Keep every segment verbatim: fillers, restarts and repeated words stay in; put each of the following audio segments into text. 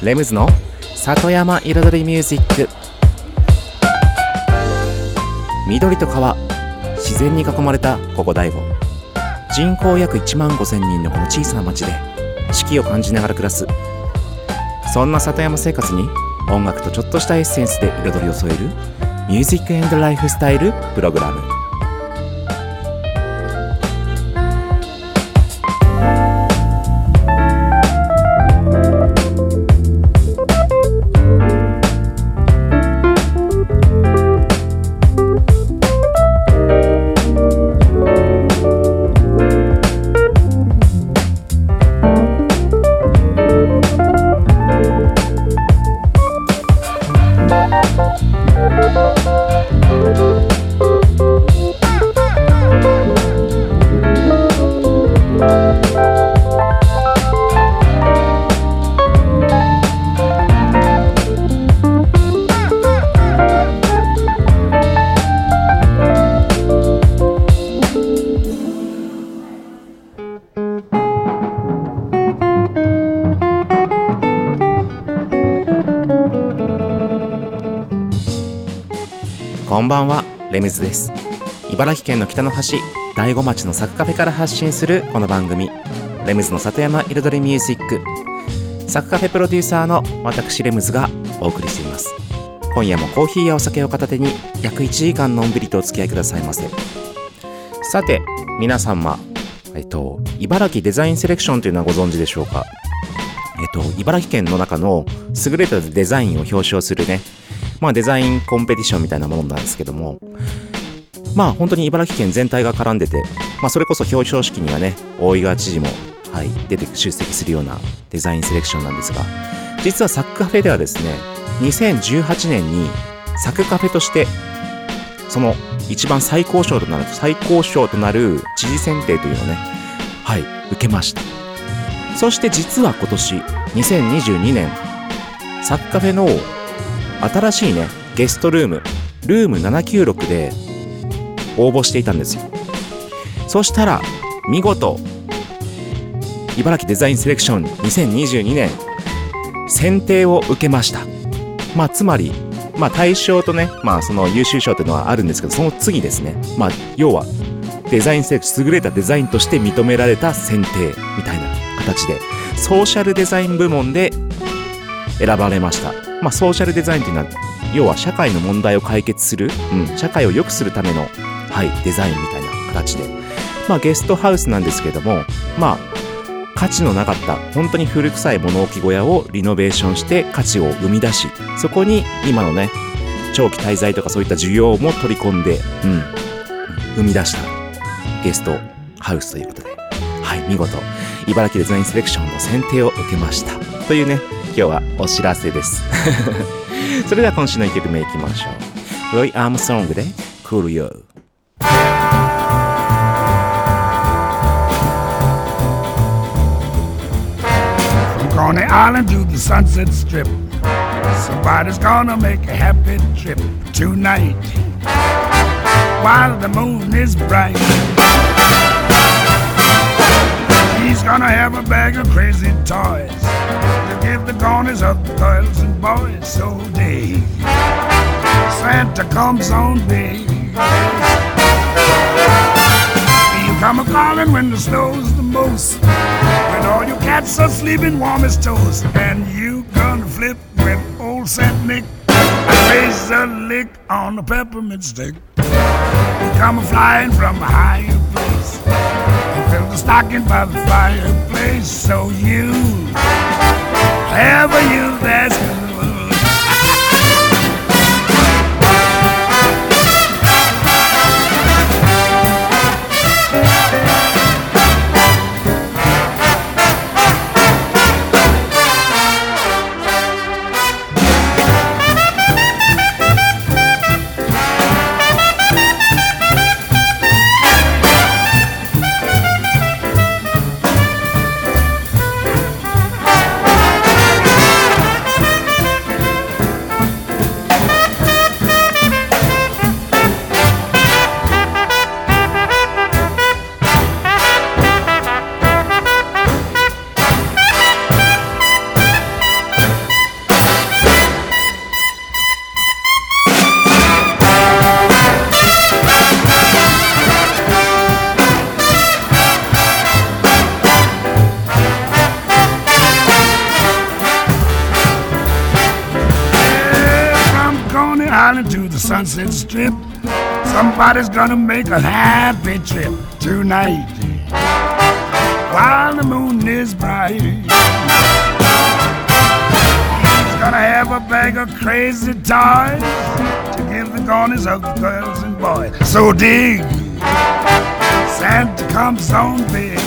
レムズの里山彩りミュージック。緑と川、自然に囲まれたここ大悟。人口約いちまんごせんにんのこの小さな町で四季を感じながら暮らす、そんな里山生活に音楽とちょっとしたエッセンスで彩りを添えるミュージック&ライフスタイルプログラム。こんばんは、レムズです。茨城県の北の端、大子町のサクカフェから発信するこの番組、レムズの里山彩りミュージック。サクカフェプロデューサーの私レムズがお送りしています。今夜もコーヒーやお酒を片手に約いちじかんのんびりとお付き合いくださいませ。さて皆様、えっと茨城デザインセレクションというのはご存知でしょうか。えっと茨城県の中の優れたデザインを表彰するね、まあデザインコンペティションみたいなものなんですけども、まあ本当に茨城県全体が絡んでて、まあそれこそ表彰式にはね、大井川知事もはい出て出席するようなデザインセレクションなんですが、実はサクカフェではですね、にせんじゅうはちねんにサクカフェとしてその一番最高賞となる最高賞となる知事選定というのをね、はい受けました。そして実は今年にせんにじゅうにねん、サクカフェの新しいねゲストルームルームななきゅうろくで応募していたんですよ。そしたら見事茨城デザインセレクションにせんにじゅうにねん選定を受けました。まあつまりまあ大賞とね、まあその優秀賞というのはあるんですけど、その次ですね、まあ要はデザインセレクション、優れたデザインとして認められた選定みたいな形でソーシャルデザイン部門で選ばれました。まあ、ソーシャルデザインというのは要は社会の問題を解決する、うん、社会を良くするための、はい、デザインみたいな形で、まあ、ゲストハウスなんですけども、まあ、価値のなかった本当に古臭い物置小屋をリノベーションして価値を生み出し、そこに今のね長期滞在とかそういった需要も取り込んで、うん、生み出したゲストハウスということで、はい、見事茨城デザインセレクションの選定を受けましたというね、今日はお知らせですそれでは今週のいっきょくめいきましょう。ロイ・アームストロングで Cool You。 From Coney Island to the Sunset Strip, somebody's gonna make a happy trip tonight while the moon is bright. He's gonna have a bag of crazy toys to give the corners of the girls and boys so day Santa comes on day. You come a-calling when the snow's the most, when all your cats are sleeping warm as toast, and you gonna flip when old Saint Nick plays a lick on the peppermint stick. You come a-flying from a higher place and fill the stocking by the fireplace, so you ever you that's good. the Sunset Strip. Somebody's gonna make a happy trip tonight while the moon is bright. He's gonna have a bag of crazy toys to give the corners of the girls and boys. So dig, Santa comes on big.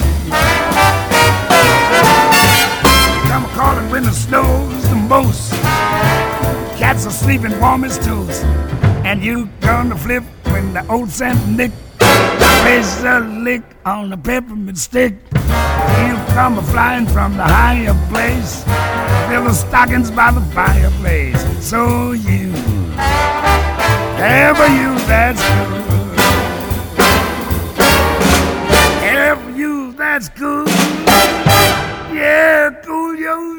Come calling when the snow's the most. Cats are sleeping warm as toast. And you gonna flip when the old Saint Nick plays a lick on the peppermint stick. He'll come flying from the higher place, fill the stockings by the fireplace. So you, ever you that's good, ever you that's good, yeah, cool yo.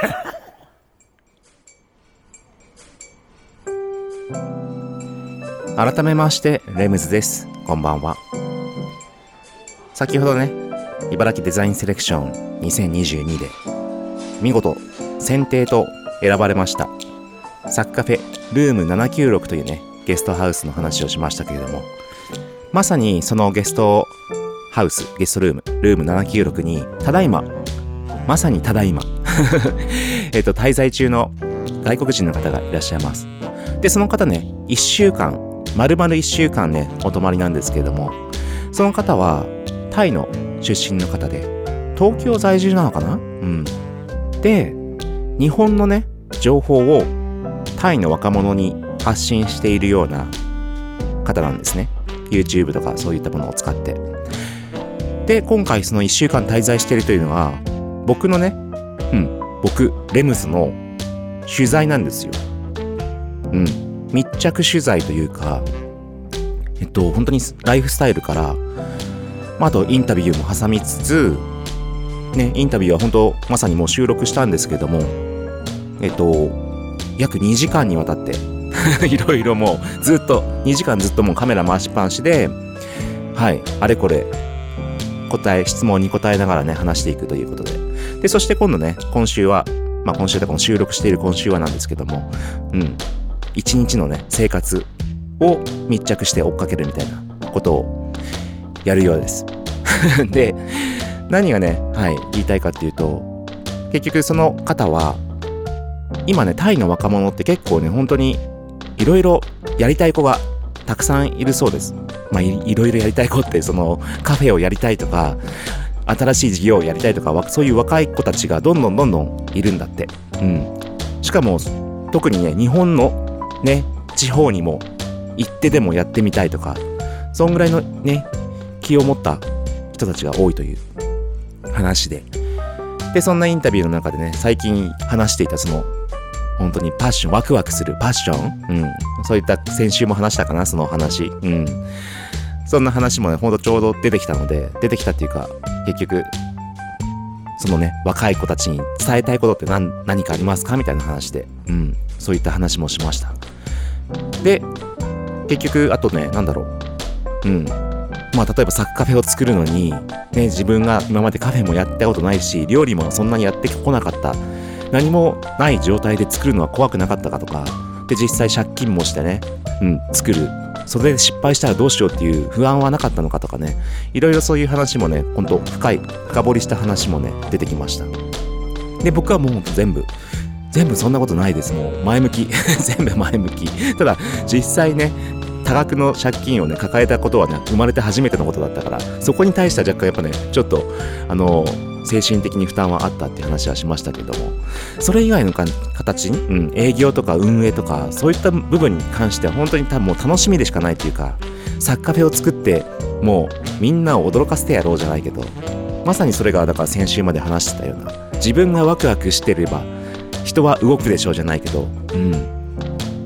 改めましてレムズです。こんばんは。先ほどね、茨城デザインセレクションにせんにじゅうにで見事選定と選ばれましたサッカフェルームななきゅうろくというねゲストハウスの話をしましたけれども、まさにそのゲストハウスゲストルームルームななきゅうろくにただいままさにただいまえっと滞在中の外国人の方がいらっしゃいます。でその方ねいっしゅうかん丸々いっしゅうかんねお泊まりなんですけれども、その方はタイの出身の方で東京在住なのかな。うんで日本のね情報をタイの若者に発信しているような方なんですね。 YouTube とかそういったものを使って。で今回そのいっしゅうかん滞在しているというのは僕のねうん僕レムズの取材なんですよ。うん密着取材というか、えっと本当にライフスタイルから、まあ、あとインタビューも挟みつつね、インタビューは本当まさにもう収録したんですけども、えっと約にじかんにわたっていろいろもうずっとにじかんずっともうカメラ回しっぱなしで、はいあれこれ答え質問に答えながらね話していくということで、でそして今度ね今週はまあ今週だから収録している今週はなんですけども、うん一日のね生活を密着して追っかけるみたいなことをやるようですで何がね、はい、言いたいかっていうと、結局その方は今ねタイの若者って結構ね本当にいろいろやりたい子がたくさんいるそうです。まあ い, いろいろやりたい子ってそのカフェをやりたいとか新しい事業をやりたいとかそういう若い子たちがどんどんどんどんいるんだって。うん。しかも特にね日本のね地方にも行ってでもやってみたいとかそんぐらいのね気を持った人たちが多いという話で、でそんなインタビューの中でね最近話していたその本当にパッションワクワクするパッション、うん、そういった先週も話したかなその話、うん、そんな話もねほんとちょうど出てきたので出てきたっていうか結局そのね若い子たちに伝えたいことって 何, 何かありますかみたいな話で、うん、そういった話もしました。で結局あとねなんだろううんまあ例えばサッカフェを作るのにね自分が今までカフェもやったことないし料理もそんなにやってこなかった何もない状態で作るのは怖くなかったかとかで実際借金もしてねうん作るそれで失敗したらどうしようっていう不安はなかったのかとかねいろいろそういう話もねほんと深い深掘りした話もね出てきました。で僕はもう全部全部そんなことないです。もう前向き全部前向き。ただ実際ね多額の借金をね抱えたことはね生まれて初めてのことだったから、そこに対しては若干やっぱねちょっとあの精神的に負担はあったっていう話はしましたけども、それ以外のか形、うん、営業とか運営とかそういった部分に関しては本当に多分もう楽しみでしかないっていうか、サッカフェを作ってもうみんなを驚かせてやろうじゃないけど、まさにそれがだから先週まで話してたような自分がワクワクしてれば人は動くでしょうじゃないけど、うん、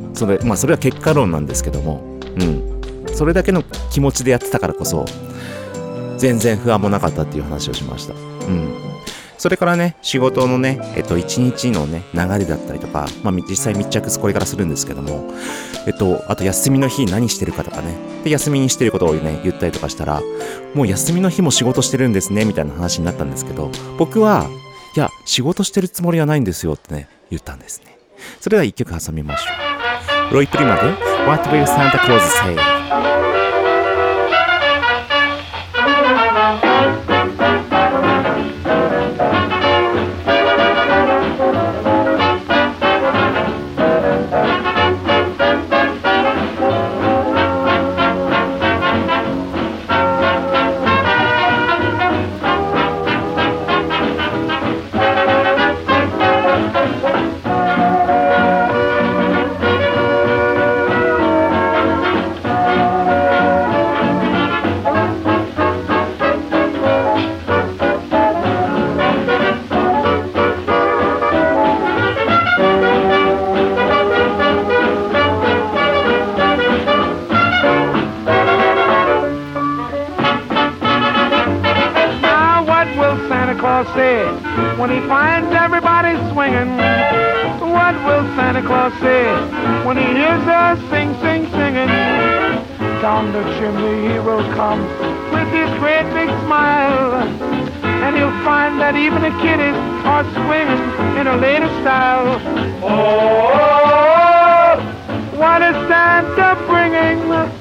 それまあそれは結果論なんですけども、うん、それだけの気持ちでやってたからこそ全然不安もなかったっていう話をしました。うん。それからね仕事のねえっと一日のね流れだったりとか、まあ実際密着これからするんですけども、えっとあと休みの日何してるかとかね、で休みにしてることをね言ったりとかしたら、もう休みの日も仕事してるんですねみたいな話になったんですけど、僕はいや仕事してるつもりはないんですよってね言ったんですね。それでは一曲挟みましょう。 ロイプリマで What Will Santa Claus Say。 When he finds everybody swinging, what will Santa Claus say when he hears us sing, sing, singing? Down the chimney he will come with his great big smile, and he'll find that even the kiddies are swinging in a latest style. Oh, what is Santa bringing?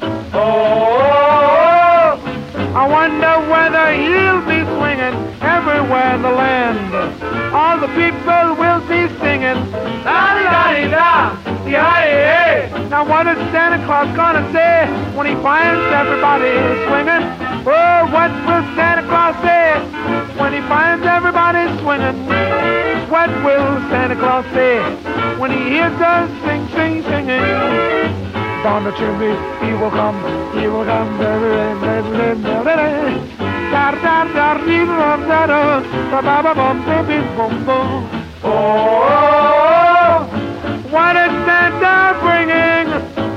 Oh, I wonder whether he'll be swinging everywhere in the land. All the people will be singing, la-di-da-di-da, yeah-yeah. Now what is Santa Claus gonna say when he finds everybody swinging? Oh, what will Santa Claus say when he finds everybody swinging? What will Santa Claus say when he hears us sing, sing, singing? Down the chimney he will come, he will come. Oh, what is Santa bringing?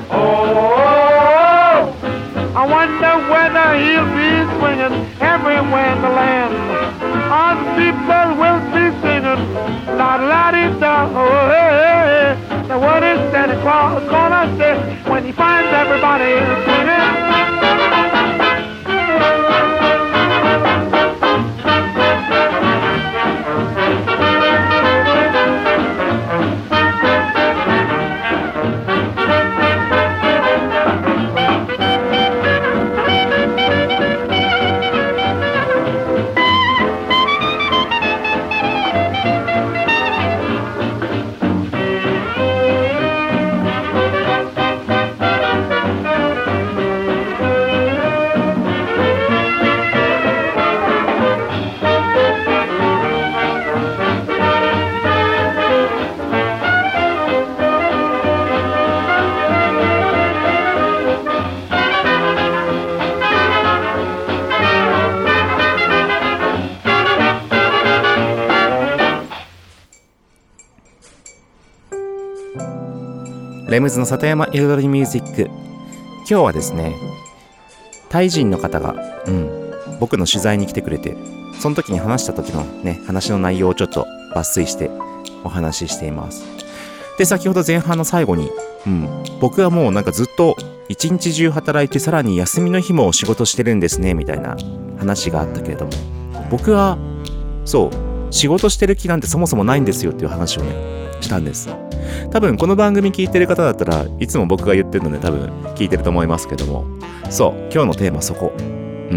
Oh, I wonder whether he'll be swinging everywhere in the land. All the people will be singing, la la di da. Oh, hey, hey. Now what is Santa Claus gonna say when he finds everybody swinging? レムズの里山彩りミュージック。今日はですね、タイ人の方が、うん、僕の取材に来てくれて、その時に話した時のね、話の内容をちょっと抜粋してお話ししています。で、先ほど前半の最後に、うん、僕はもうなんかずっと一日中働いて、さらに休みの日も仕事してるんですねみたいな話があったけれども、僕はそう仕事してる気なんてそもそもないんですよっていう話をねしたんです。多分この番組聞いてる方だったらいつも僕が言ってるので多分聞いてると思いますけども、そう今日のテーマそこ。うん、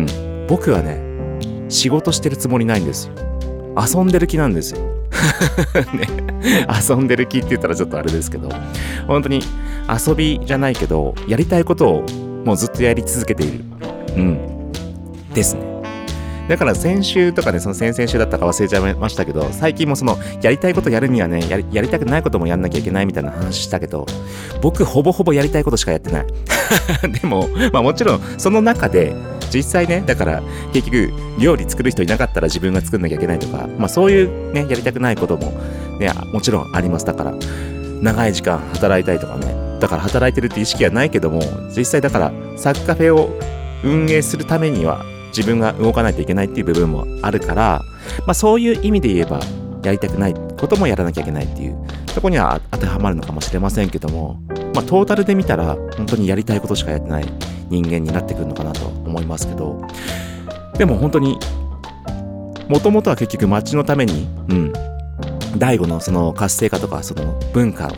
僕はね仕事してるつもりないんですよ。遊んでる気なんですよ。ね、遊んでる気って言ったらちょっとあれですけど、本当に遊びじゃないけどやりたいことをもうずっとやり続けている。うんですね。だから先週とかね、その先々週だったか忘れちゃいましたけど、最近もそのやりたいことやるにはね、やり、やりたくないこともやんなきゃいけないみたいな話したけど、僕ほぼほぼやりたいことしかやってない。でも、まあもちろんその中で実際ね、だから結局料理作る人いなかったら自分が作んなきゃいけないとか、まあそういうね、やりたくないこともね、もちろんあります。だから長い時間働いたりとかね、だから働いてるって意識はないけども、実際だからサッカフェを運営するためには自分が動かないといけないっていう部分もあるから、まあそういう意味で言えばやりたくないこともやらなきゃいけないっていうところには当てはまるのかもしれませんけども、まあトータルで見たら本当にやりたいことしかやってない人間になってくるのかなと思いますけど、でも本当にもともとは結局街のために、うん、第五のその活性化とかその文化をね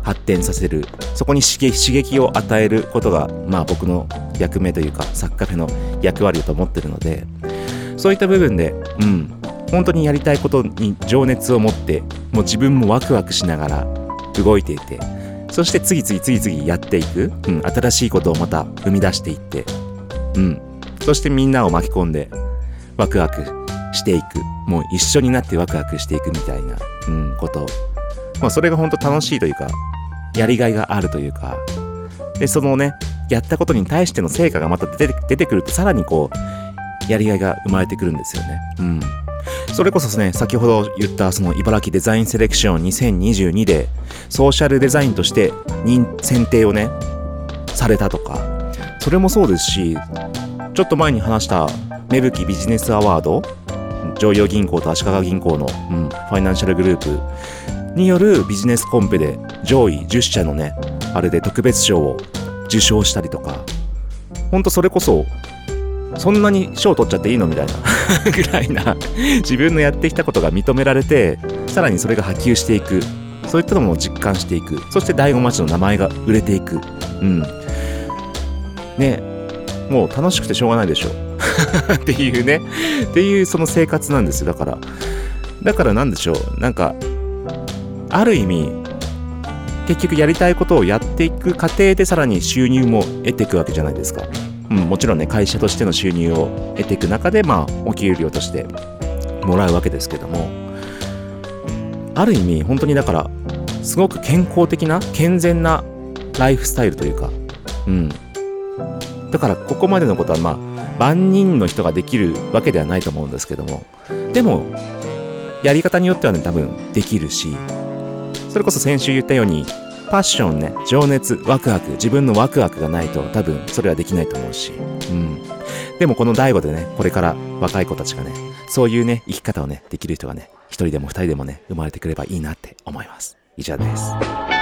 発展させる、そこに刺激、刺激を与えることが、まあ僕の役目というか、サッカフェの役割だと思ってるので、そういった部分で、うん、本当にやりたいことに情熱を持って、もう自分もワクワクしながら動いていて、そして次々次々やっていく、うん、新しいことをまた生み出していって、うん、そしてみんなを巻き込んでワクワクしていく、もう一緒になってワクワクしていくみたいな、うん、こと、まあそれが本当楽しいというか、やりがいがあるというか、でそのね、やったことに対しての成果がまた出て、出てくると、さらにこうやりがいが生まれてくるんですよね。うん。それこそね、先ほど言ったその茨城デザインセレクションにせんにじゅうにでソーシャルデザインとして認選定をねされたとか、それもそうですし、ちょっと前に話した芽吹ビジネスアワード、常陽銀行と足利銀行の、うん、ファイナンシャルグループによるビジネスコンペで上位じゅっしゃのね、あれで特別賞を受賞したりとか、ほんとそれこそそんなに賞取っちゃっていいのみたいなぐらいな、自分のやってきたことが認められて、さらにそれが波及していく、そういったのも実感していく、そして醍醐町の名前が売れていく、うんね、もう楽しくてしょうがないでしょっていうね、っていうその生活なんですよ。だからだからなんでしょう、なんかある意味結局やりたいことをやっていく過程でさらに収入も得ていくわけじゃないですか。うん、もちろんね、会社としての収入を得ていく中で、まあお給料としてもらうわけですけども、ある意味本当にだからすごく健康的な健全なライフスタイルというか、うん、だからここまでのことはまあ万人の人ができるわけではないと思うんですけども、でもやり方によってはね、多分できるし、それこそ先週言ったようにパッションね、情熱、ワクワク、自分のワクワクがないと多分それはできないと思うし、うん。でもこの大悟でね、これから若い子たちがね、そういうね、生き方をね、できる人がね、一人でも二人でもね、生まれてくればいいなって思います。以上です。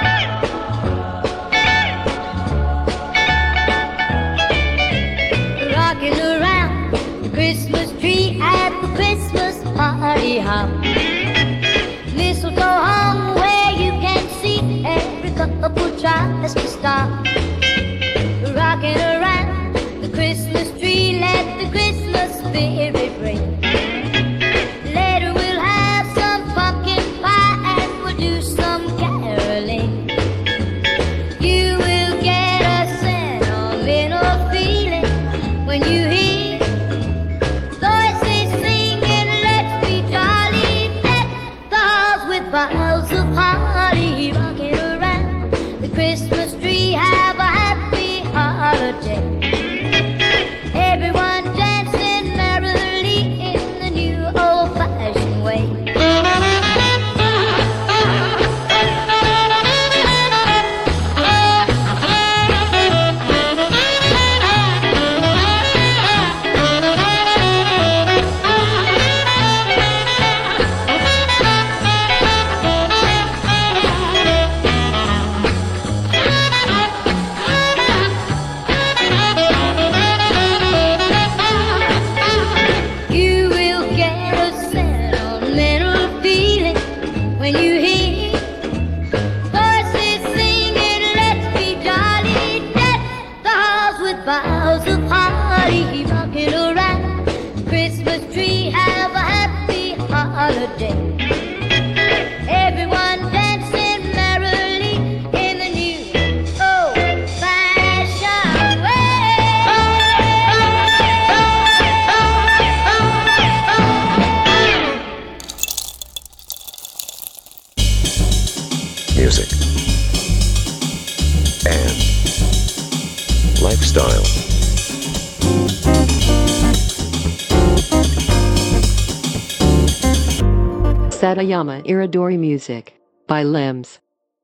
Rocking around the Christmas tree at the Christmas party hop. Mistletoe hung where you can see every couple tries to stop. Rocking around the Christmas tree, let the Christmas spirit ring. Later we'll have some pumpkin pie and we'll do some caroling. You will get a sentimental feeling when you hear voices singing, let's be jolly, deck the halls with boughs of holly. Rocking around the Christmas tree, have a happy holiday. Everyone dancing merrily in the new old-fashioned way. You will get a sentimental feeling when you hear voices singing, let's be jolly, deck the halls with boughs of holly. Rocking around the Christmas tree, have a happy holiday. Everyone dancing merrily in the new old-fashioned way. Music and lifestyle. Satayama Iridori Music by Limbs.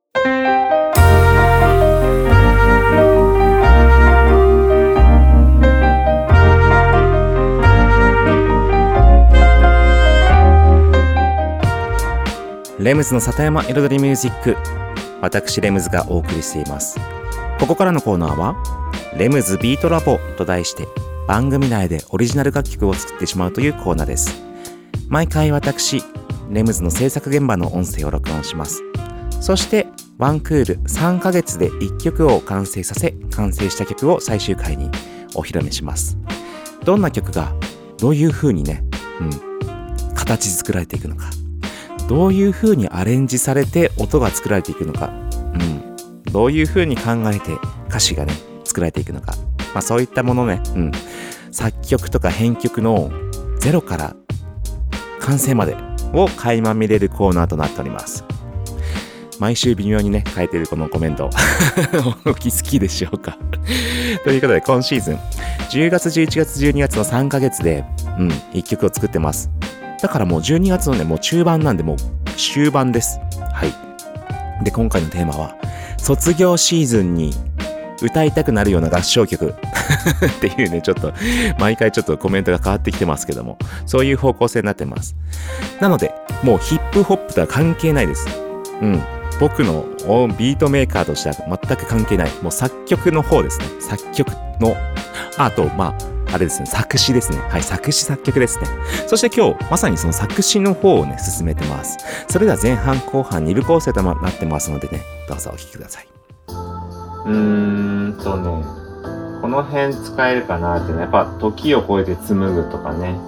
レムズの里山彩りミュージック、私レムズがお送りしています。ここからのコーナーはレムズビートラボと題して番組内でオリジナル楽曲を作ってしまうというコーナーです。毎回私レムズの制作現場の音声を録音します。そしてワンクールさんかげつでいっきょくを完成させ、完成した曲を最終回にお披露目します。どんな曲がどういう風にね、うん、形作られていくのか、どういう風にアレンジされて音が作られていくのか、うん、どういう風に考えて歌詞がね作られていくのか、まあそういったものね、うん、作曲とか編曲のゼロから完成までを垣間見れるコーナーとなっております。毎週微妙にね変えているこのコメントお気づきでしょうかということで、今シーズンじゅうがつじゅういちがつじゅうにがつのさんかげつで、うん、いっきょくを作ってます。だからもうじゅうにがつのねもう中盤なんで、もう終盤です。はい。で、今回のテーマは卒業シーズンに歌いたくなるような合唱曲っていうね、ちょっと毎回ちょっとコメントが変わってきてますけども、そういう方向性になってます。なのでもうヒップホップとは関係ないです。うん、僕のビートメーカーとしては全く関係ない、もう作曲の方ですね。作曲のあとまああれですね、作詞ですね。はい、作詞作曲ですね。そして今日まさにその作詞の方をね進めてます。それでは前半後半に部構成となってますのでね、どうぞお聴きください。うーんとね、この辺使えるかなってね、やっぱ時を超えて紡ぐとかね、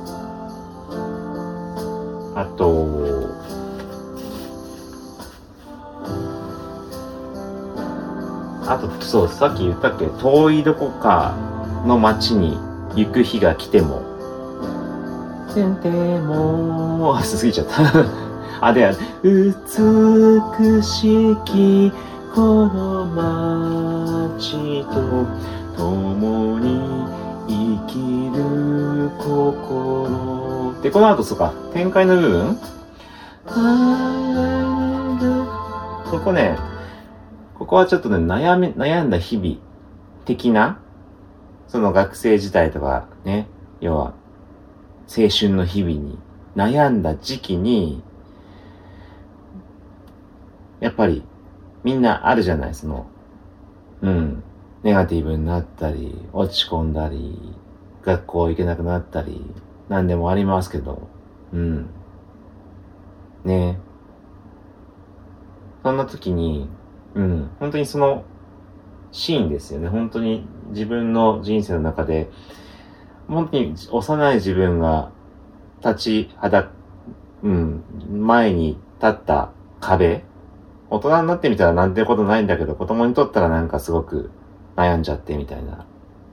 あとあとそうさっき言ったっけ、遠いどこかの街に行く日が来てもせんてもあ過ぎちゃったあで美しきこの街と共に生きる心で、この後そうか展開の部分、ここね、ここはちょっとね悩み悩んだ日々的な、その学生時代とかね、要は青春の日々に悩んだ時期に、やっぱりみんなあるじゃない、そのうんネガティブになったり落ち込んだり学校行けなくなったり何でもありますけど、うんね、そんな時にうん本当にそのシーンですよね。本当に自分の人生の中で本当に幼い自分が立ちはだうん前に立った壁、大人になってみたらなんてことないんだけど、子供にとったらなんかすごく悩んじゃってみたいな。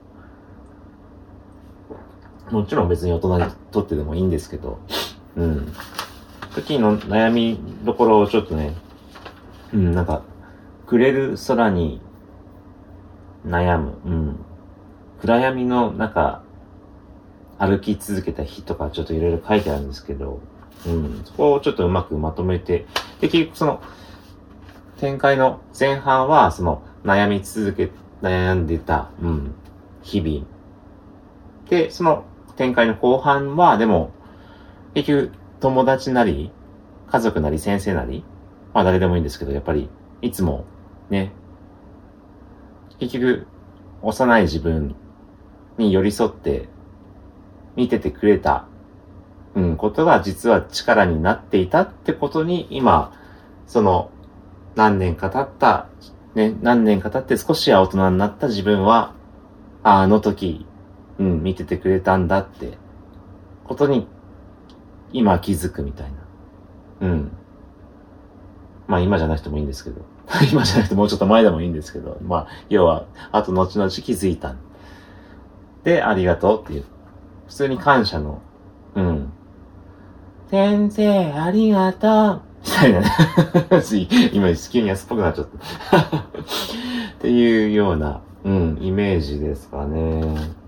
もちろん別に大人にとってでもいいんですけど、うん。時の悩みどころをちょっとね、うん、なんか、暮れる空に悩む、うん。暗闇の中、歩き続けた日とかちょっといろいろ書いてあるんですけど、うん。そこをちょっとうまくまとめて、で、結局その、展開の前半は、その、悩み続け、悩んでた、うん、日々。で、その展開の後半は、でも、結局、友達なり、家族なり、先生なり、まあ誰でもいいんですけど、やっぱり、いつも、ね、結局、幼い自分に寄り添って、見ててくれた、うん、ことが実は力になっていたってことに、今、その、何年か経った、ね、何年か経って少しは大人になった自分は、あ、あの時、うん、見ててくれたんだって、ことに、今気づくみたいな。うん。まあ今じゃなくてもいいんですけど。今じゃなくてもうちょっと前でもいいんですけど。まあ、要は、あと後々気づいた。で、ありがとうっていう。普通に感謝の、うん。先生、ありがとうみたいなね。今、急に安っぽくなっちゃった。っていうような、うん、イメージですかね。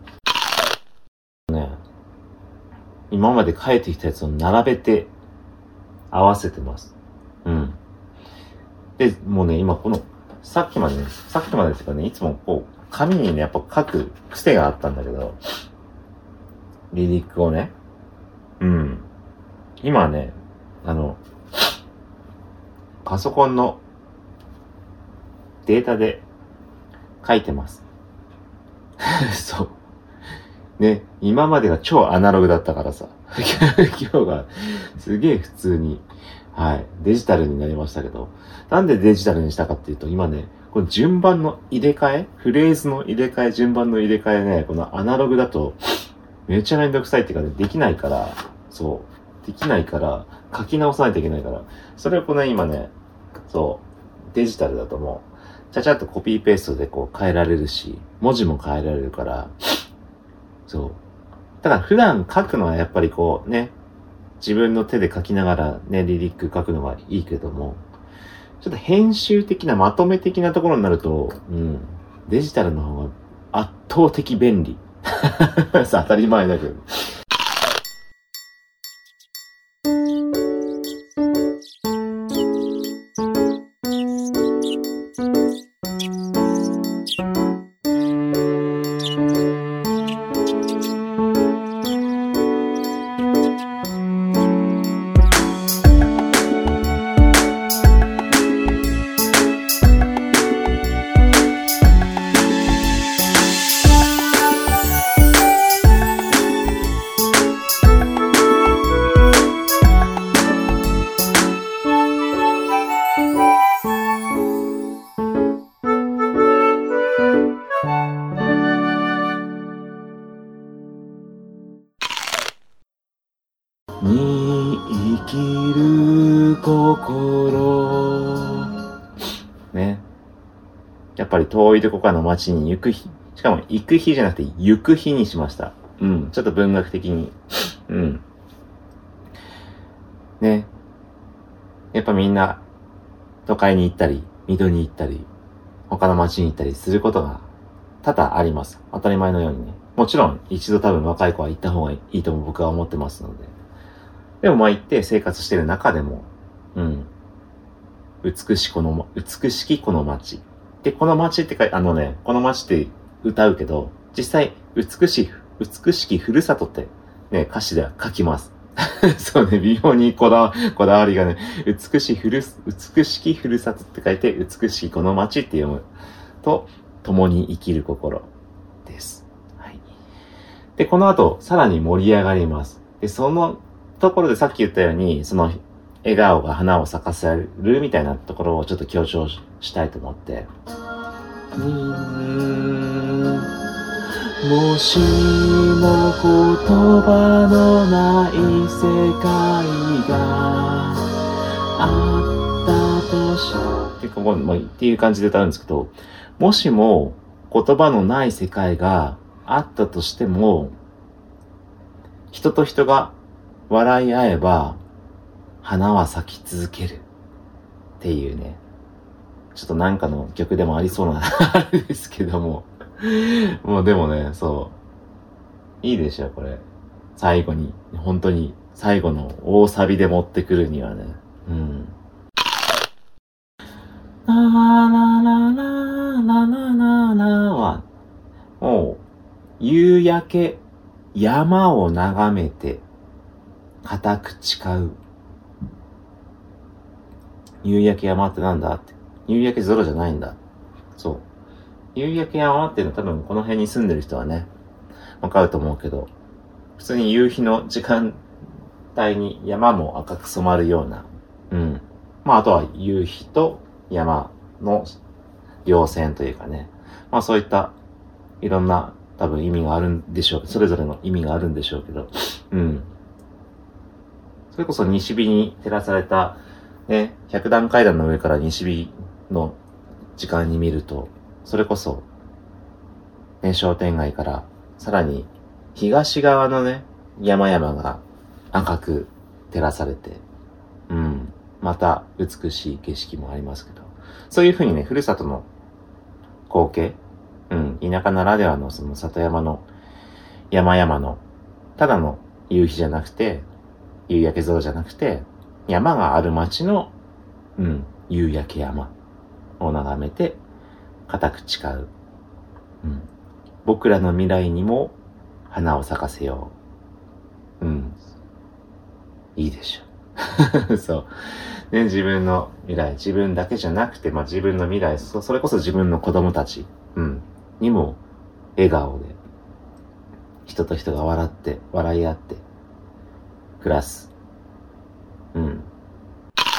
ね。今まで書いてきたやつを並べて合わせてます。うん。で、もうね、今この、さっきまでね、さっきまでですかね、いつもこう、紙にね、やっぱ書く癖があったんだけど、リリックをね。うん。今はね、あの、パソコンのデータで書いてます。そう。ね、今までが超アナログだったからさ。今日がすげえ普通にはい。デジタルになりましたけど。なんでデジタルにしたかっていうと、今ね、この順番の入れ替えフレーズの入れ替え、順番の入れ替えね、このアナログだと、めっちゃめんどくさいっていうかね、できないから、そう。できないから、書き直さないといけないから。それをこの今ね、そう。デジタルだともう、ちゃちゃっとコピーペーストでこう変えられるし、文字も変えられるから、そう。だから普段書くのはやっぱりこうね、自分の手で書きながらね、リリック書くのがいいけども、ちょっと編集的なまとめ的なところになると、うん、デジタルの方が圧倒的便利。当たり前だけど。に生きる心ね。やっぱり遠いどこかの街に行く日、しかも行く日じゃなくて行く日にしました。うん、ちょっと文学的に。うん。ね。やっぱみんな都会に行ったり、水戸に行ったり、他の街に行ったりすることが多々あります。当たり前のようにね。もちろん一度多分若い子は行った方がいいとも僕は思ってますので。でもまあ行って生活してる中でも、うん。美しこの、美しきこの街。で、この街ってか、あのね、この街って歌うけど、実際、美しい、美しきふるさとって、ね、歌詞では書きます。そうね、微妙にこだわ、こだわりがね、美しいふる、美しきふるさとって書いて、美しきこの街って読むと、共に生きる心です。はい。で、この後、さらに盛り上がります。で、そのところでさっき言ったように、その、笑顔が花を咲かせるみたいなところをちょっと強調したいと思って。うーんもしも言葉のない世界があったとし、結構、まあ、っていう感じで歌うんですけど、もしも言葉のない世界があったとしても、人と人が笑い合えば、花は咲き続けるっていうね、ちょっとなんかの曲でもありそうなあれですけども、もうでもね、そういいでしょこれ。最後に本当に最後の大サビで持ってくるにはね、うん。なーなーなーなーなーなーなーなーはもう夕焼け山を眺めて固く誓う。夕焼け山ってなんだって。夕焼け空じゃないんだ。そう。夕焼け山っていうのは多分この辺に住んでる人はね、わかると思うけど、普通に夕日の時間帯に山も赤く染まるような、うん。まああとは夕日と山の稜線というかね。まあそういったいろんな多分意味があるんでしょう。それぞれの意味があるんでしょうけど、うん。それこそ西日に照らされたね、百段階段の上から西日の時間に見ると、それこそ、ね、商店街からさらに東側のね、山々が赤く照らされて、うん、また美しい景色もありますけど、そういう風にね、ふるさとの光景、うん、田舎ならではのその里山の山々の、ただの夕日じゃなくて、夕焼け空じゃなくて、山がある町の、うん、夕焼け山を眺めて、固く誓う。うん。僕らの未来にも花を咲かせよう。うん。いいでしょ。そう。ね、自分の未来、自分だけじゃなくて、まあ、自分の未来、そ、それこそ自分の子供たち、うん、にも笑顔で、人と人が笑って、笑い合って、暮らす。うん。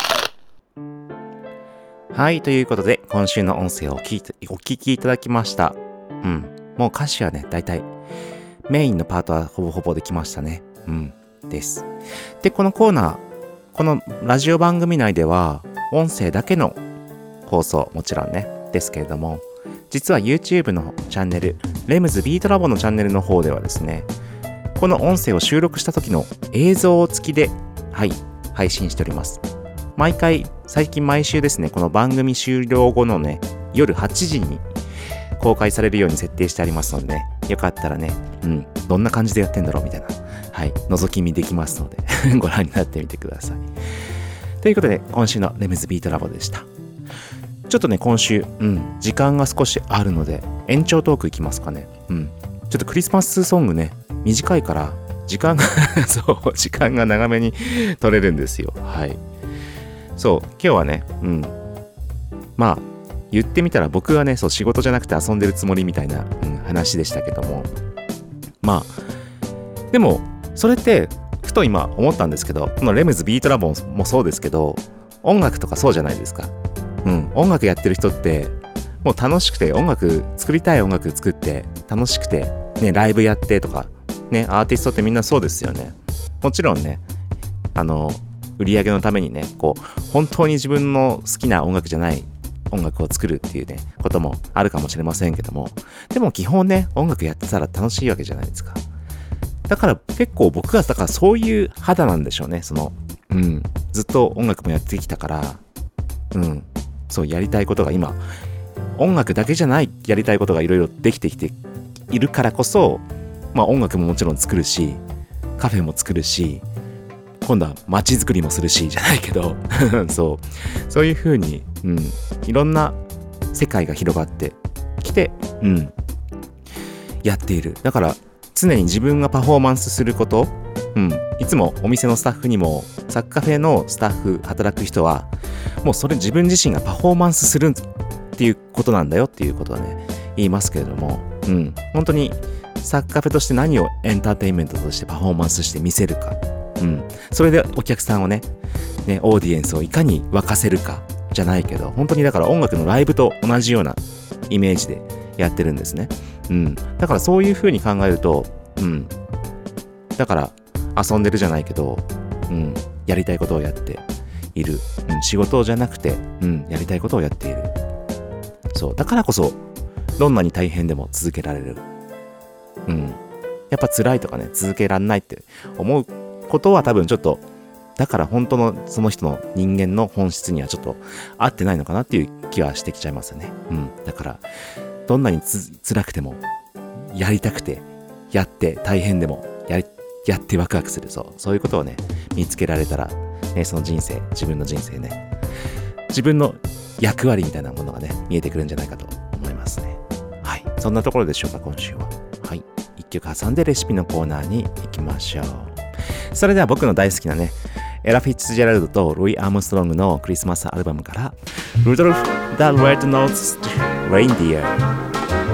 はい、ということで今週の音声を聞いてお聞きいただきました。うん、もう歌詞はね、だいたいメインのパートはほぼほぼできましたね。うん、です。で、このコーナー、このラジオ番組内では音声だけの放送、もちろんね、ですけれども、実は YouTube のチャンネル、レムズビートラボのチャンネルの方ではですね、この音声を収録した時の映像付きで、はい、配信しております。毎回、最近毎週ですね、この番組終了後のね、夜はちじに公開されるように設定してありますのでね、よかったらね、うん、どんな感じでやってんだろうみたいな、はい、覗き見できますので、ご覧になってみてください。ということで、今週のレムズビートラボでした。ちょっとね、今週、うん、時間が少しあるので、延長トークいきますかね。うん。ちょっとクリスマスソングね、短いから、時間が、そう、時間が長めに取れるんですよ。はい。そう、今日はね、うん。まあ、言ってみたら僕はね、そう、仕事じゃなくて遊んでるつもりみたいな、うん、話でしたけども。まあ、でも、それって、ふと今思ったんですけど、このレムズビートラボもそうですけど、音楽とかそうじゃないですか。うん、音楽やってる人って、もう楽しくて、音楽、作りたい音楽作って、楽しくて、ね、ライブやってとか、ね、アーティストってみんなそうですよね。もちろんね、あの、売り上げのためにね、こう、本当に自分の好きな音楽じゃない音楽を作るっていうね、こともあるかもしれませんけども、でも基本ね、音楽やってたら楽しいわけじゃないですか。だから結構僕が、だからそういう肌なんでしょうね、その、うん、ずっと音楽もやってきたから、うん、そう、やりたいことが今、音楽だけじゃないやりたいことがいろいろできてきているからこそ、まあ音楽ももちろん作るし、カフェも作るし、今度は街づくりもするし、じゃないけど、そう、そういう風に、うん、いろんな世界が広がってきて、うん、やっている。だから常に自分がパフォーマンスすること、うん、いつもお店のスタッフにも、サッカフェのスタッフ、働く人は、もうそれ自分自身がパフォーマンスするっていうことなんだよっていうことはね、言いますけれども、うん、本当にサッカフェとして何をエンターテインメントとしてパフォーマンスして見せるか、うん、それでお客さんをね、ね、オーディエンスをいかに沸かせるかじゃないけど、本当にだから音楽のライブと同じようなイメージでやってるんですね。うん、だからそういう風に考えると、うん、だから遊んでるじゃないけど、うん、やりたいことをやっている、うん、仕事じゃなくて、うん、やりたいことをやっている。そう、だからこそどんなに大変でも続けられる。うん、やっぱ辛いとかね、続けらんないって思うことは多分ちょっと、だから本当のその人の人間の本質にはちょっと合ってないのかなっていう気はしてきちゃいますよね。うん、だからどんなにつ辛くてもやりたくてやって大変でもやりやってワクワクする、そうそういうことをね見つけられたらね、その人生、自分の人生ね、自分の役割みたいなものがね見えてくるんじゃないかと思いますね。はい、そんなところでしょうか今週は。はい、一曲挟んでレシピのコーナーに行きましょう。それでは僕の大好きなね、エラ・フィッツジェラルドとルイ・アームストロングのクリスマスアルバムからルドルフ・ザ・レッド・ノーズ・レインディア。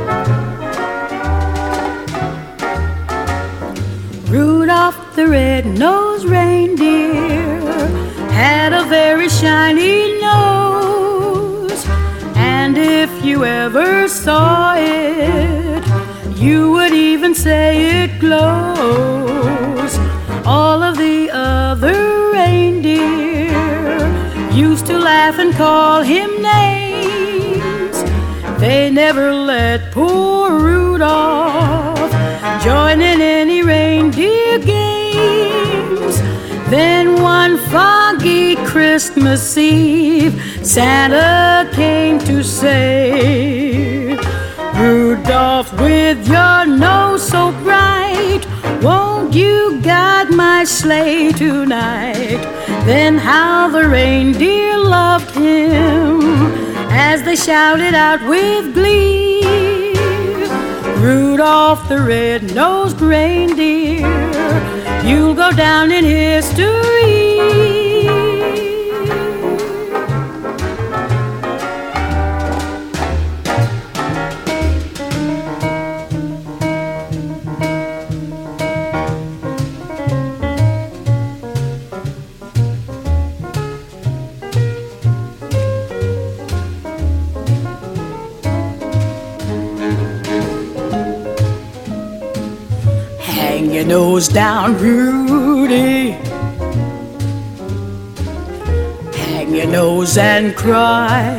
Rudolph the red-nosed reindeer had a very shiny nose, and if you ever saw it, you would even say it glows. All of the other reindeer used to laugh and call him names. They never let poor Rudolph join in any reindeer games. Then one foggy Christmas Eve, Santa came to say, Rudolph, with your nose so bright, won't you guide my sleigh tonight? Then how the reindeer loved him as they shouted out with glee, Rudolph the red-nosed reindeer, you'll go down in history. your nose down, Rudy. Hang your nose and cry.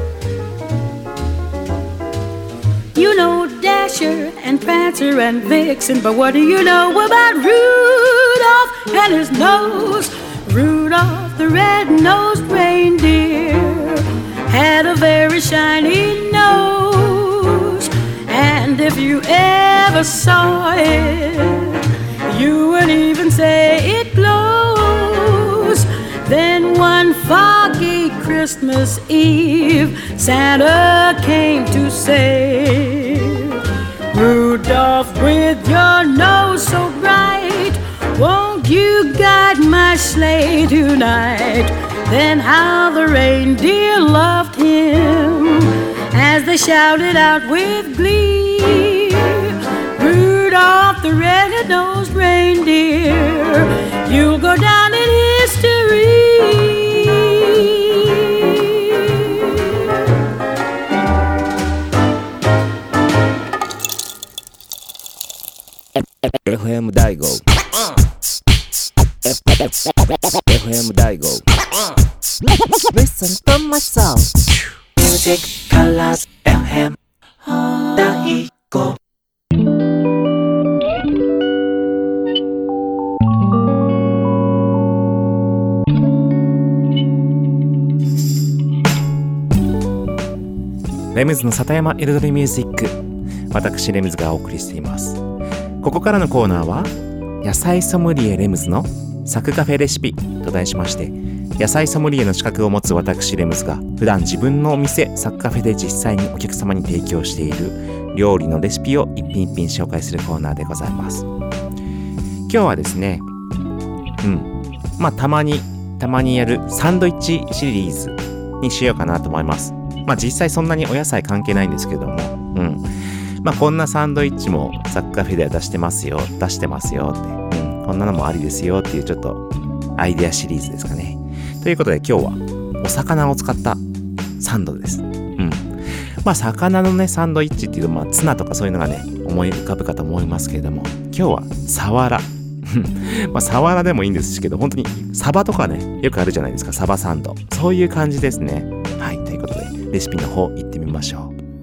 You know Dasher and Prancer and Vixen, but what do you know about Rudolph and his nose? Rudolph the red-nosed reindeer had a very shiny nose, and if you ever saw it, you would even say it glows. Then one foggy Christmas Eve, Santa came to say, Rudolph, with your nose so bright, won't you guide my sleigh tonight? Then how the reindeer loved him as they shouted out with glee, Rudolph the red-nosed reindeer, you'll go down in history. エフエム 大号 エフエム 大号 Listen to my song Music Colors エフエム 大号レムズの里山彩りミュージック、私レムズがお送りしています。ここからのコーナーは野菜ソムリエレムズのサクカフェレシピと題しまして、野菜ソムリエの資格を持つ私レムズが普段自分のお店サクカフェで実際にお客様に提供している料理のレシピを一品一品紹介するコーナーでございます。今日はですね、うんまあたまにたまにやるサンドイッチシリーズにしようかなと思います。まあ実際そんなにお野菜関係ないんですけども、うんまあこんなサンドイッチもサクカフェでは出してますよ出してますよって、うん、こんなのもありですよっていうちょっとアイデアシリーズですかね。ということで今日はお魚を使ったサンドです。うんまあ魚のねサンドイッチっていうとまあツナとかそういうのがね思い浮かぶかと思いますけれども、今日はサワラまあサワラでもいいんですけど、本当にサバとかねよくあるじゃないですか、サバサンド、そういう感じですね。はい、ということでレシピの方行ってみましょう。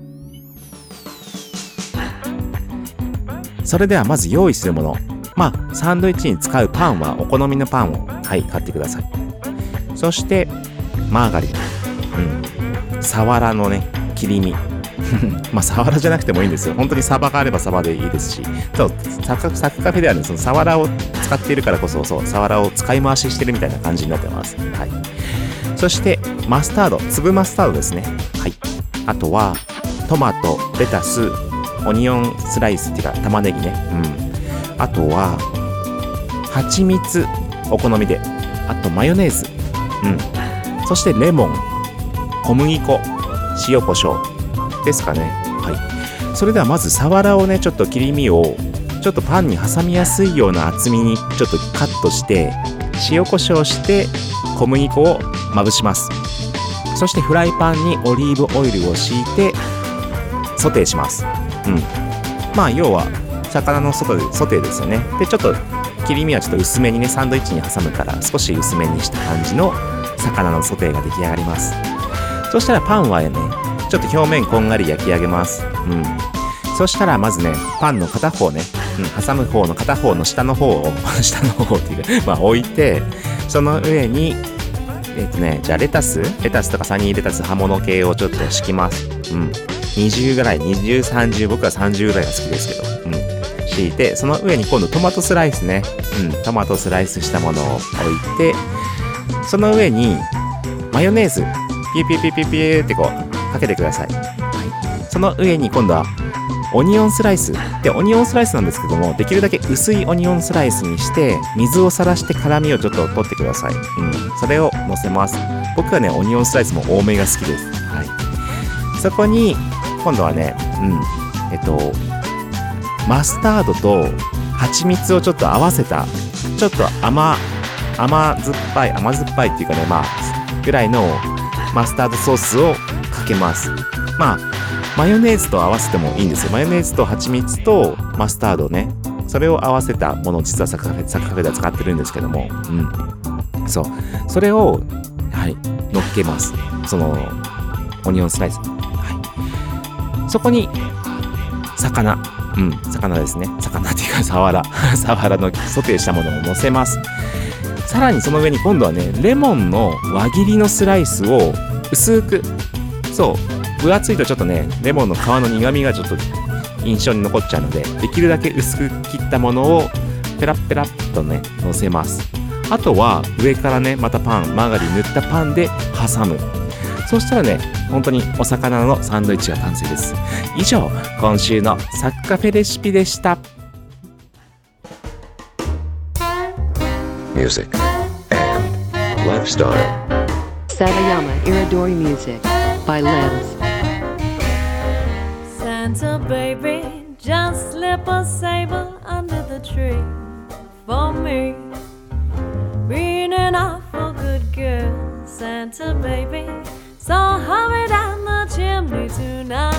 それではまず用意するもの、まあサンドイッチに使うパンはお好みのパンをはい買ってください。そしてマーガリン、うん、サワラのね切り身まあサワラじゃなくてもいいんですよ。本当にサバがあればサバでいいですし、そうサクサクカフェではねそのサワラを使っているからこそ、そうサワラを使い回ししてるみたいな感じになってます。はい。そしてマスタード、粒マスタードですね。はい。あとはトマト、レタス、オニオンスライスっていうか玉ねぎね。うん。あとは蜂蜜、お好みで。あとマヨネーズ。うん。そしてレモン、小麦粉、塩コショウですかね。はい。それではまずサワラをねちょっと切り身をちょっとパンに挟みやすいような厚みにちょっとカットして塩コショウして小麦粉をまぶします。そしてフライパンにオリーブオイルを敷いてソテーします。うん。まあ要は魚の外でソテーですよね。でちょっと切り身はちょっと薄めにねサンドイッチに挟むから少し薄めにした感じの魚のソテーが出来上がります。そしたらパンはねちょっと表面こんがり焼き上げます。うん。そしたらまずねパンの片方ね、うん、挟む方の片方の下の方を下の方っていうかまあ置いて、その上にえっとねじゃあレタスレタスとかサニーレタス葉物系をちょっと敷きます。うん。にじゅうぐらい、にじゅう、さんじゅう、僕はさんじゅうぐらいが好きですけど、うん。敷いて、その上に今度トマトスライスね、うん、トマトスライスしたものを置いて、その上にマヨネーズピュピュピュピュピュってこうかけてください。はい。その上に今度はオニオンスライスで、オニオンスライスなんですけども、できるだけ薄いオニオンスライスにして水をさらして辛みをちょっと取ってください。うん、それを乗せます。僕はねオニオンスライスも多めが好きです。はい。そこに今度はね、うん、えっとマスタードと蜂蜜をちょっと合わせたちょっと甘甘酸っぱい甘酸っぱいっていうかね、まあぐらいのマスタードソースをかけます。まあマヨネーズと合わせてもいいんですよ。マヨネーズと蜂蜜とマスタードね、 それを合わせたものを実はサクカフェサクカフェでは使ってるんですけども、うん、そうそれをはい乗っけます。そのオニオンスライス、はい、そこに魚、うん、魚ですね。魚っていうかサワラサワラのソテーしたものを乗せます。さらにその上に今度はねレモンの輪切りのスライスを薄く、そう分厚いとちょっとねレモンの皮の苦みがちょっと印象に残っちゃうので、できるだけ薄く切ったものをペラッペラッとね乗せます。あとは上からねまたパンマーガリン塗ったパンで挟む。そうしたらね本当にお魚のサンドイッチが完成です。以上今週のサクカフェレシピでした。 Music and lifestyle. Satayama Iridori Music by Lems. Santa baby, just slip a sable under the tree for me. Being an awful good girl, Santa baby, so hurry down the chimney tonight.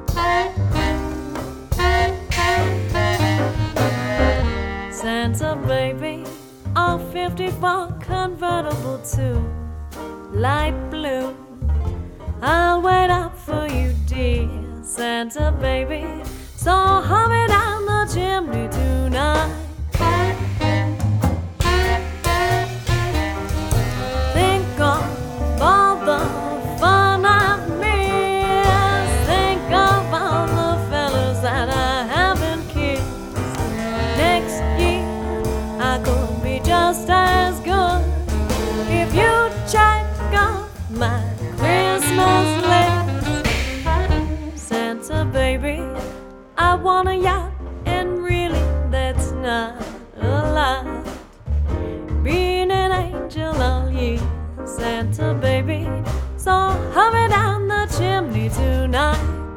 Santa baby, a fifty-four convertible to light blue. I'll wait up for you, dear Santa baby, so hurry down the chimney tonight. Think of all the fun I've missed. Think of all the fellas that I haven't kissed. Next year I could be just as good if you check off my Christmas list. Santa baby, I want a yacht, and really that's not a lot. Being an angel all year, Santa baby, so hurry down the chimney tonight.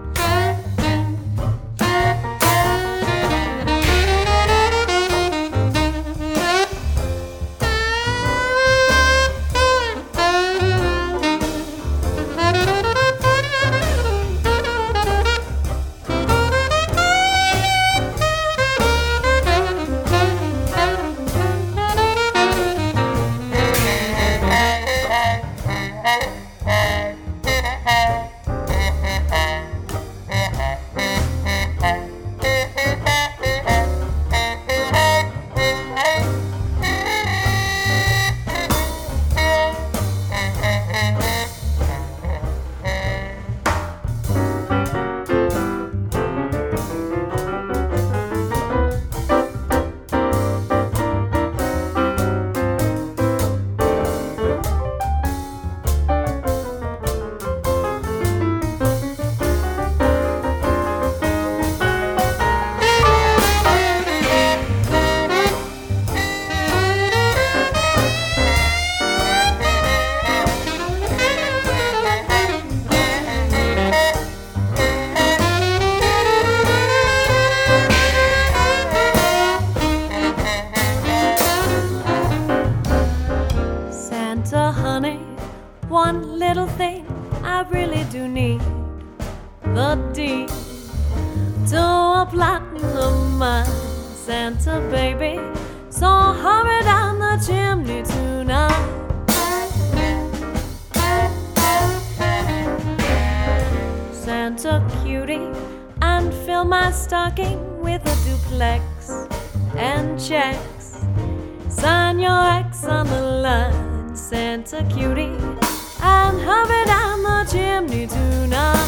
One little thing I really do need, the deed to a platinum mine, Santa baby, so hurry down the chimney tonight. Santa cutie, and fill my stocking with a duplex and checks. Sign your ex on the line, Santa cutie, and hurry down the chimney tonight.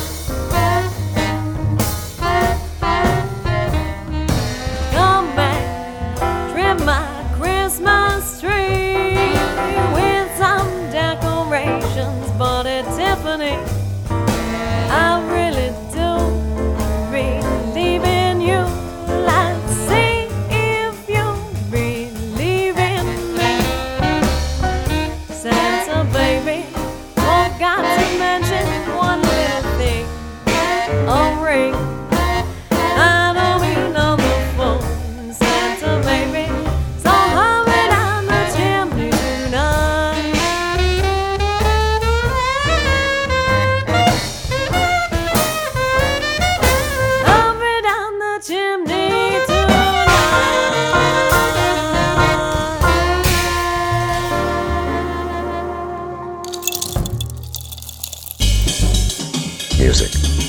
Come back, trim my Christmas tree with some decorations, bought at Tiffany. I really do believe in you. Let's see if you believe in me. Santa baby, forgot to mention one little thing, a ring. I don't mean on the phone, Santa baby, so hurry down the chimney tonight. music,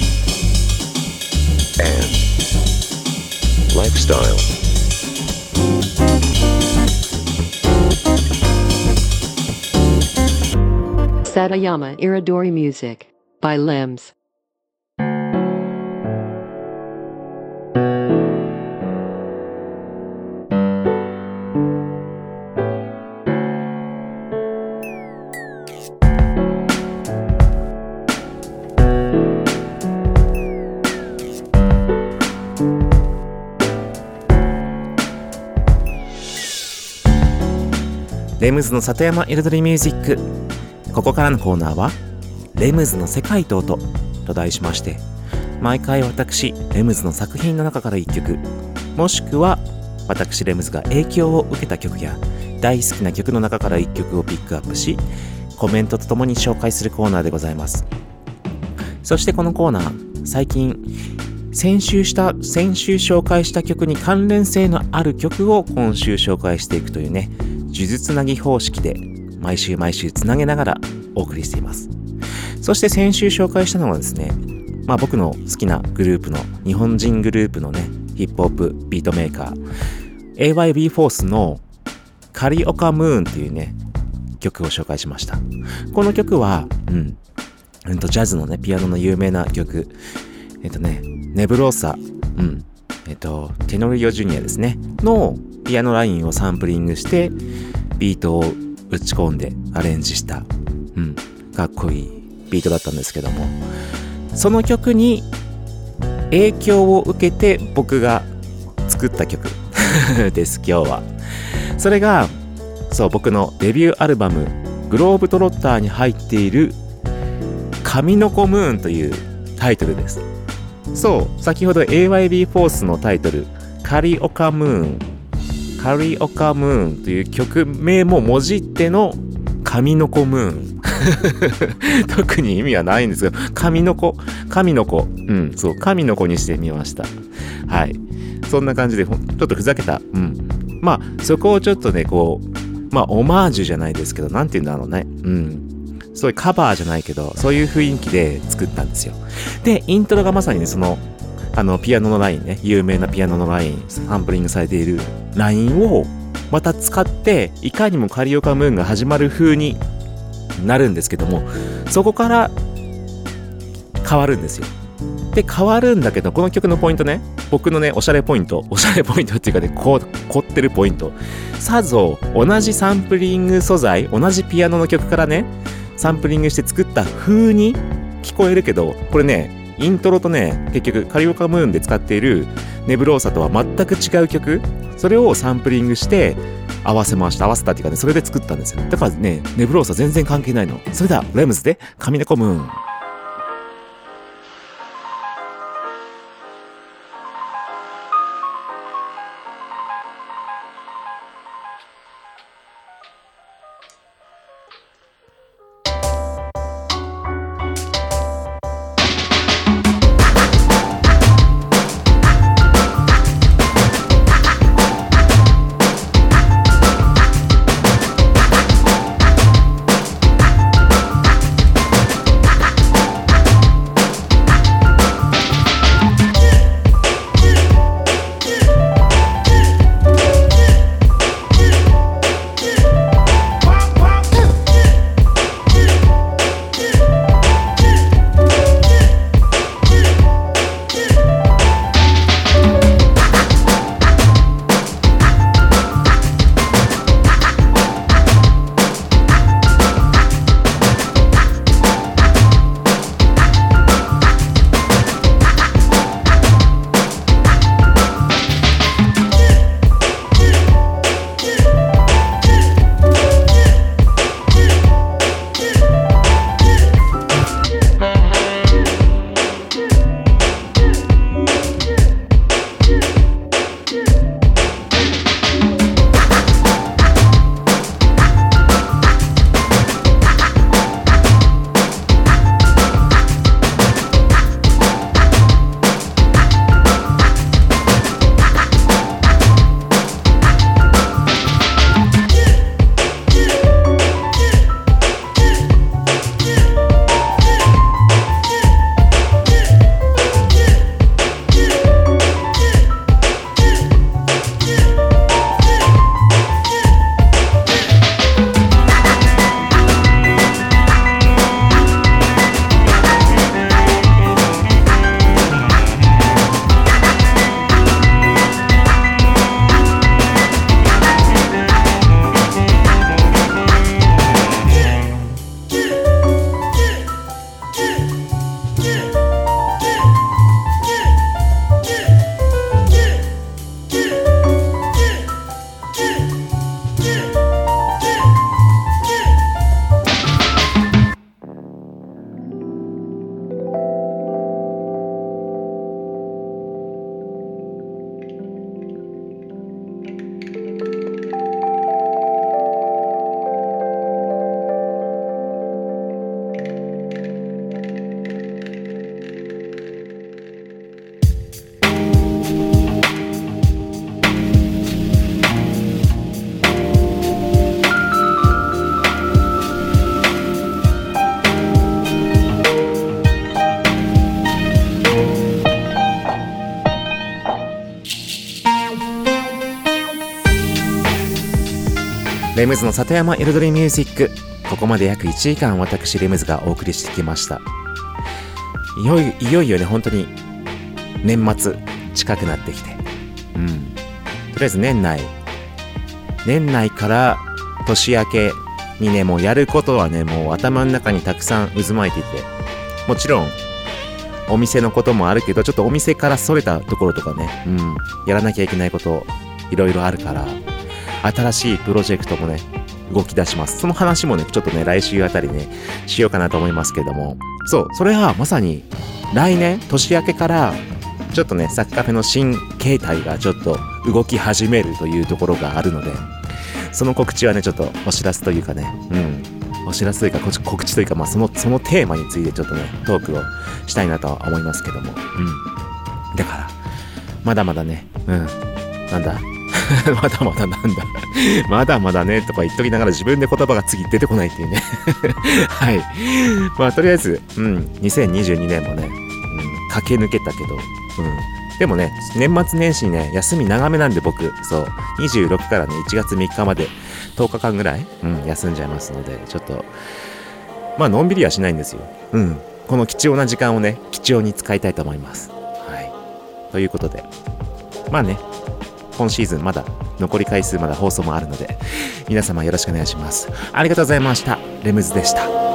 and lifestyle. Satayama Iridori Music by Limbs. レムズの里山彩りミュージック。ここからのコーナーはレムズの世界と音と題しまして、毎回私レムズの作品の中からいっきょく、もしくは私レムズが影響を受けた曲や大好きな曲の中からいっきょくをピックアップし、コメントとともに紹介するコーナーでございます。そしてこのコーナー、最近先週した先週紹介した曲に関連性のある曲を今週紹介していくというね、呪術つなぎ方式で毎週毎週つなげながらお送りしています。そして先週紹介したのはですね、まあ僕の好きなグループの日本人グループのね、ヒップホップビートメーカー エーワイビー フォースのカリオカムーンっていうね曲を紹介しました。この曲はうん、うん、とジャズのねピアノの有名な曲、えっとねネブローサ、うんえっとテノリオジュニアですねのピアノラインをサンプリングしてビートを打ち込んでアレンジした、うん、かっこいいビートだったんですけども、その曲に影響を受けて僕が作った曲です今日は。それがそう僕のデビューアルバムグローブトロッターに入っている神の子ムーンというタイトルです。そう先ほど エーワイビー フォースのタイトルカリオカムーンカリオカムーンという曲名ももじっての神の子ムーン特に意味はないんですけど、神の子神の子うんそう神の子にしてみました。はい、そんな感じでちょっとふざけた、うんまあそこをちょっとねこうまあオマージュじゃないですけど、なんて言うんだろうね、うんそういうカバーじゃないけどそういう雰囲気で作ったんですよ。でイントロがまさにねそのあのピアノのラインね、有名なピアノのライン、サンプリングされているラインをまた使っていかにもカリオカムーンが始まる風になるんですけども、そこから変わるんですよ。で変わるんだけど、この曲のポイントね、僕のねおしゃれポイントおしゃれポイントっていうかねこう凝ってるポイント、さぞ同じサンプリング素材同じピアノの曲からねサンプリングして作った風に聞こえるけど、これねイントロとね結局カリオカムーンで使っているネブローサとは全く違う曲、それをサンプリングして合わせました合わせたっていうかね、それで作ったんですよ。だからねネブローサ全然関係ないの。それではレムズで神の子ムーン。 レムズの里山彩りミュージック、ここまで約いちじかん私レムズがお送りしてきました。いよいよいよいよね、本当に年末近くなってきて、うん、とりあえず年内年内から年明けにね、もうやることはね、もう頭の中にたくさん渦巻いていて、もちろんお店のこともあるけど、ちょっとお店からそれたところとかね、うん、やらなきゃいけないこといろいろあるから、新しいプロジェクトもね動き出します。その話もねちょっとね来週あたりねしようかなと思いますけども、そう、それはまさに来年年明けからちょっとねサッカフェの新形態がちょっと動き始めるというところがあるので、その告知はねちょっとお知らせというかね、うんお知らせというか告知というか、まあそのそのテーマについてちょっとねトークをしたいなとは思いますけども、うん、だからまだまだね、うんなんだまだまだなんだまだまだねとか言っときながら自分で言葉が次出てこないっていうねはい、まあとりあえず、うん、にせんにじゅうにねんもね、うん、駆け抜けたけど、うん、でもね年末年始にね休み長めなんで、僕そうにじゅうろくからねいちがつみっかまでとおかかんぐらい、うん、休んじゃいますので、ちょっとまあのんびりはしないんですよ。うん、この貴重な時間をね貴重に使いたいと思います。はい、ということでまあね今シーズンまだ残り回数まだ放送もあるので、皆様よろしくお願いします。ありがとうございました。レムズでした。